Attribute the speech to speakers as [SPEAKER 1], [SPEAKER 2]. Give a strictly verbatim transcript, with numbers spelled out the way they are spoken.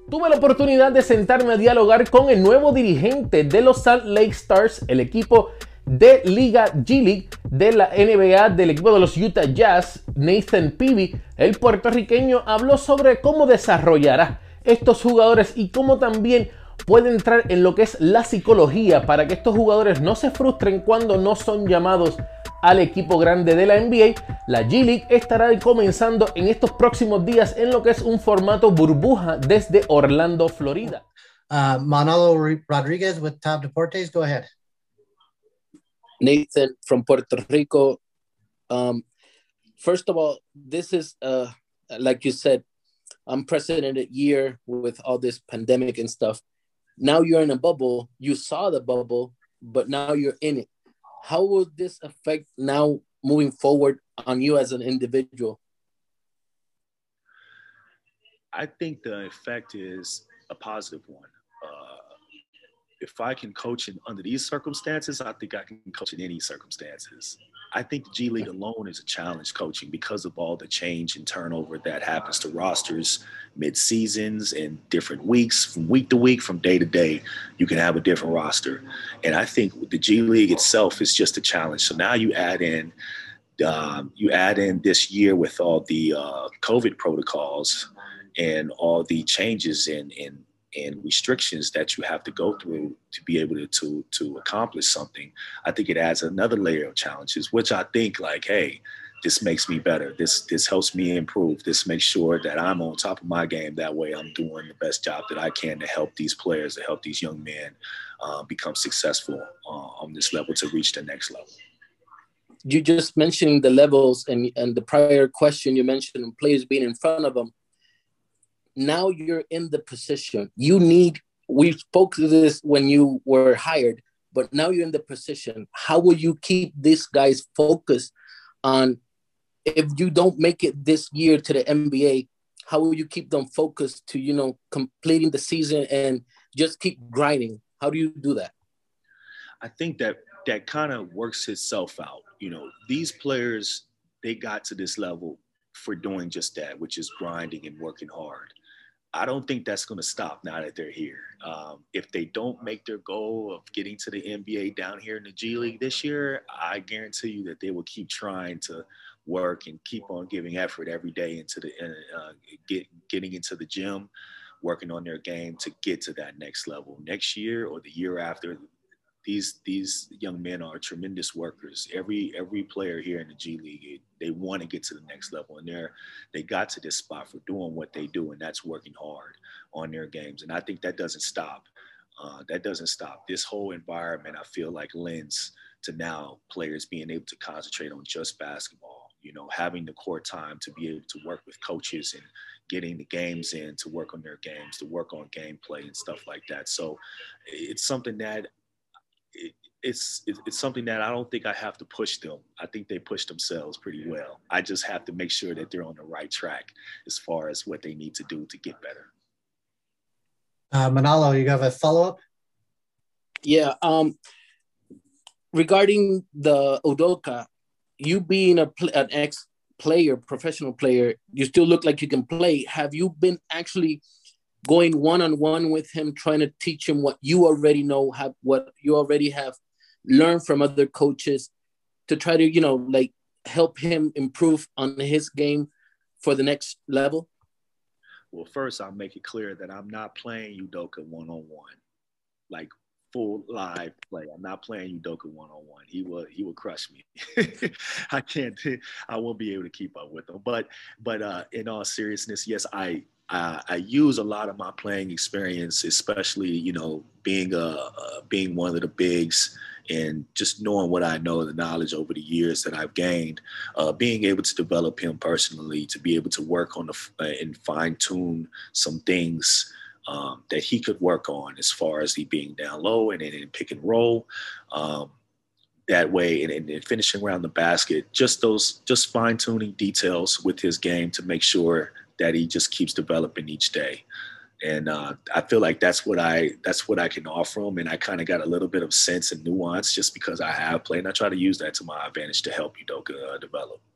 [SPEAKER 1] Tuve la oportunidad de sentarme a dialogar con el nuevo dirigente de los Salt Lake Stars, el equipo de Liga G League de la N B A del equipo de los Utah Jazz, Nathan Peavy. El puertorriqueño habló sobre cómo desarrollará estos jugadores y cómo también puede entrar en lo que es la psicología para que estos jugadores no se frustren cuando no son llamados al equipo grande de la N B A. La G League estará comenzando en estos próximos días en lo que es un formato burbuja desde Orlando, Florida.
[SPEAKER 2] Uh, Manolo Rodriguez with Top Deportes, go ahead.
[SPEAKER 3] Nathan from Puerto Rico. Um, first of all, this is, uh, like you said, unprecedented year with all this pandemic and stuff. Now you're in a bubble. You saw the bubble, but now you're in it. How will this affect now moving forward on you as an individual?
[SPEAKER 4] I think the effect is a positive one. Uh, if I can coach in under these circumstances, I think I can coach in any circumstances. I think the G League alone is a challenge coaching because of all the change and turnover that happens to rosters mid-seasons and different weeks, from week to week, from day to day, you can have a different roster. And I think the G League itself is just a challenge. So now you add in, um, you add in this year with all the uh, COVID protocols and all the changes in, in and restrictions that you have to go through to be able to, to, to accomplish something. I think it adds another layer of challenges, which I think like, hey, this makes me better. This, this helps me improve. This makes sure that I'm on top of my game. That way I'm doing the best job that I can to help these players, to help these young men uh, become successful uh, on this level to reach the next level.
[SPEAKER 3] You just mentioned the levels, and, and the prior question you mentioned players being in front of them. Now you're in the position you need. We spoke to this when you were hired, but now you're in the position. How will you keep these guys focused on, if you don't make it this year to the N B A, how will you keep them focused to, you know, completing the season and just keep grinding? How do you do that?
[SPEAKER 4] I think that that kind of works itself out. You know, these players, they got to this level for doing just that, which is grinding and working hard. I don't think that's going to stop now that they're here. Um, if they don't make their goal of getting to the N B A down here in the G League this year, I guarantee you that they will keep trying to work and keep on giving effort every day into the uh, get, getting into the gym, working on their game to get to that next level. Next year or the year after, these these young men are tremendous workers. Every every player here in the G League, they want to get to the next level, and they're they got to this spot for doing what they do, and that's working hard on their games. And I think that doesn't stop. Uh, that doesn't stop. This whole environment, I feel like, lends to now players being able to concentrate on just basketball. You know, having the court time to be able to work with coaches and getting the games in to work on their games, to work on gameplay and stuff like that. So it's something that. It, it's it's something that I don't think I have to push them. I think they push themselves pretty well. I just have to make sure that they're on the right track as far as what they need to do to get better.
[SPEAKER 2] Uh, Manolo, you have a follow-up?
[SPEAKER 3] Yeah. Um, regarding the Udoka, you being a an ex-player, professional player, you still look like you can play. Have you been actually going one-on-one with him, trying to teach him what you already know, have what you already have learned from other coaches to try to, you know, like help him improve on his game for the next level?
[SPEAKER 4] Well, first I'll make it clear that I'm not playing Udoka one-on-one, like full live play. I'm not playing Udoka one-on-one. He will he will crush me. I can't, I won't be able to keep up with him. But but uh, in all seriousness, yes, I Uh, I use a lot of my playing experience, especially, you know, being a, uh, being one of the bigs and just knowing what I know, the knowledge over the years that I've gained, uh, being able to develop him personally, to be able to work on the, uh, and fine tune some things um, that he could work on as far as he being down low and in pick and roll. Um, that way and, and finishing around the basket, just those, just fine tuning details with his game to make sure that he just keeps developing each day. And uh, I feel like that's what I that's what I can offer him. And I kind of got a little bit of sense and nuance just because I have played. And I try to use that to my advantage to help Udoka uh, develop.